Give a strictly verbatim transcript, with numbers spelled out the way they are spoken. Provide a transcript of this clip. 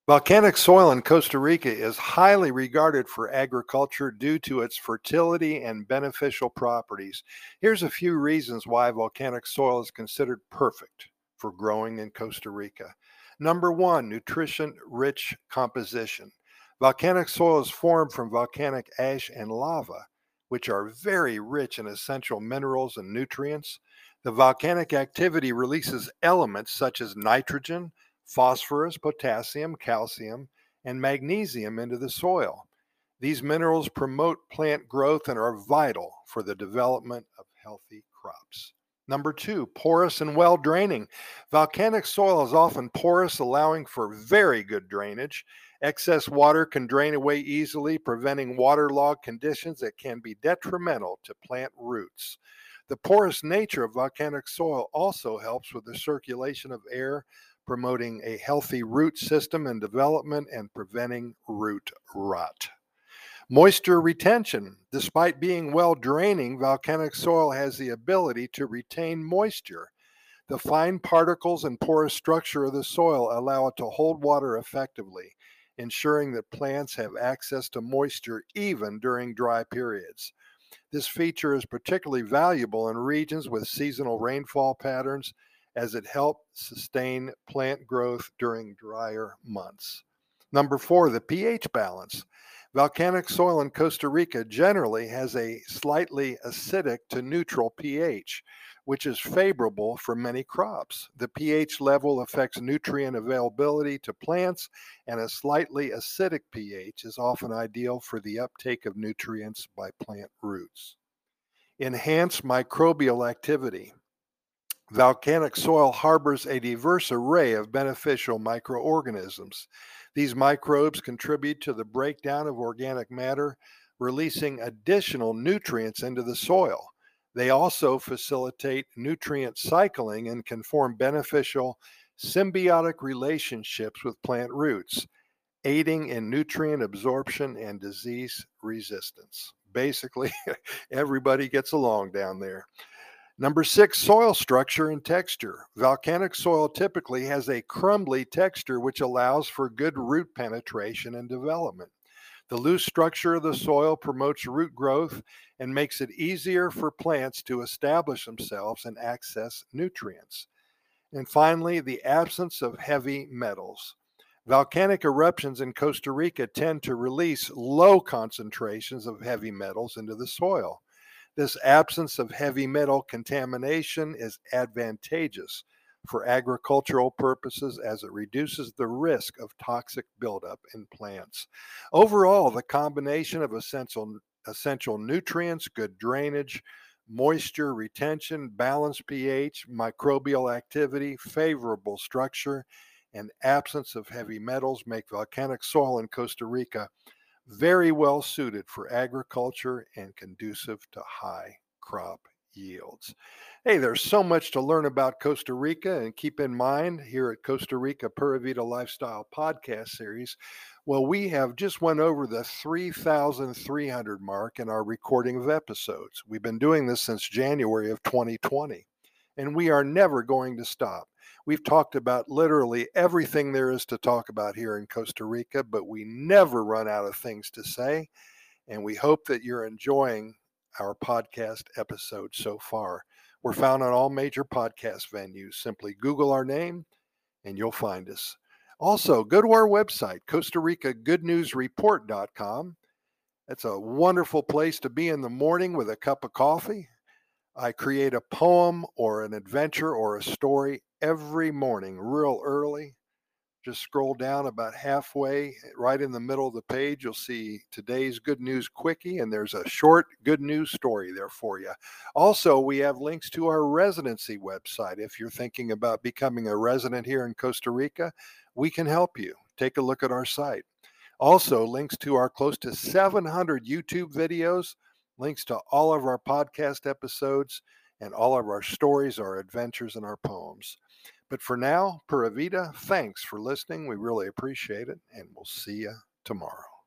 Volcanic soil in Costa Rica is highly regarded for agriculture due to its fertility and beneficial properties. Here's a few reasons why volcanic soil is considered perfect for growing in Costa Rica. Number one, nutrition rich composition. Volcanic soil is formed from volcanic ash and lava, which are very rich in essential minerals and nutrients. The volcanic activity releases elements such as nitrogen, phosphorus, potassium, calcium, and magnesium into the soil. These minerals promote plant growth and are vital for the development of healthy crops. Number two, porous and well draining. Volcanic soil is often porous, allowing for very good drainage. Excess water can drain away easily, preventing waterlogged conditions that can be detrimental to plant roots. The porous nature of volcanic soil also helps with the circulation of air, promoting a healthy root system and development and preventing root rot. Moisture retention. Despite being well draining, volcanic soil has the ability to retain moisture. The fine particles and porous structure of the soil allow it to hold water effectively, ensuring that plants have access to moisture even during dry periods. This feature is particularly valuable in regions with seasonal rainfall patterns as it helps sustain plant growth during drier months. Number four, the pH balance. Volcanic soil in Costa Rica generally has a slightly acidic to neutral pH, which is favorable for many crops. The pH level affects nutrient availability to plants, and a slightly acidic pH is often ideal for the uptake of nutrients by plant roots. Enhance microbial activity. Volcanic soil harbors a diverse array of beneficial microorganisms. These microbes contribute to the breakdown of organic matter, releasing additional nutrients into the soil. They also facilitate nutrient cycling and can form beneficial symbiotic relationships with plant roots, aiding in nutrient absorption and disease resistance. Basically, everybody gets along down there. Number six, soil structure and texture. Volcanic soil typically has a crumbly texture, which allows for good root penetration and development. The loose structure of the soil promotes root growth and makes it easier for plants to establish themselves and access nutrients. And finally, the absence of heavy metals. Volcanic eruptions in Costa Rica tend to release low concentrations of heavy metals into the soil. This absence of heavy metal contamination is advantageous for agricultural purposes as it reduces the risk of toxic buildup in plants. Overall, the combination of essential, essential nutrients, good drainage, moisture retention, balanced pH, microbial activity, favorable structure, and absence of heavy metals make volcanic soil in Costa Rica very well suited for agriculture and conducive to high crop yields. Hey, there's so much to learn about Costa Rica, and keep in mind here at Costa Rica Pura Vida Lifestyle podcast series, well, we have just went over the three thousand three hundred mark in our recording of episodes. We've been doing this since January of twenty twenty, and we are never going to stop. We've talked about literally everything there is to talk about here in Costa Rica, but we never run out of things to say. And we hope that you're enjoying our podcast episodes so far. We're found on all major podcast venues. Simply Google our name and you'll find us. Also, go to our website, Costa Rica Good News Report dot com. That's a wonderful place to be in the morning with a cup of coffee. I create a poem or an adventure or a story every morning, real early. Just scroll down about halfway, right in the middle of the page, you'll see today's Good News Quickie, and there's a short good news story there for you. Also, we have links to our residency website. If you're thinking about becoming a resident here in Costa Rica, we can help you. Take a look at our site. Also, links to our close to seven hundred YouTube videos, links to all of our podcast episodes, and all of our stories, our adventures, and our poems. But for now, Pura Vida, thanks for listening. We really appreciate it, and we'll see you tomorrow.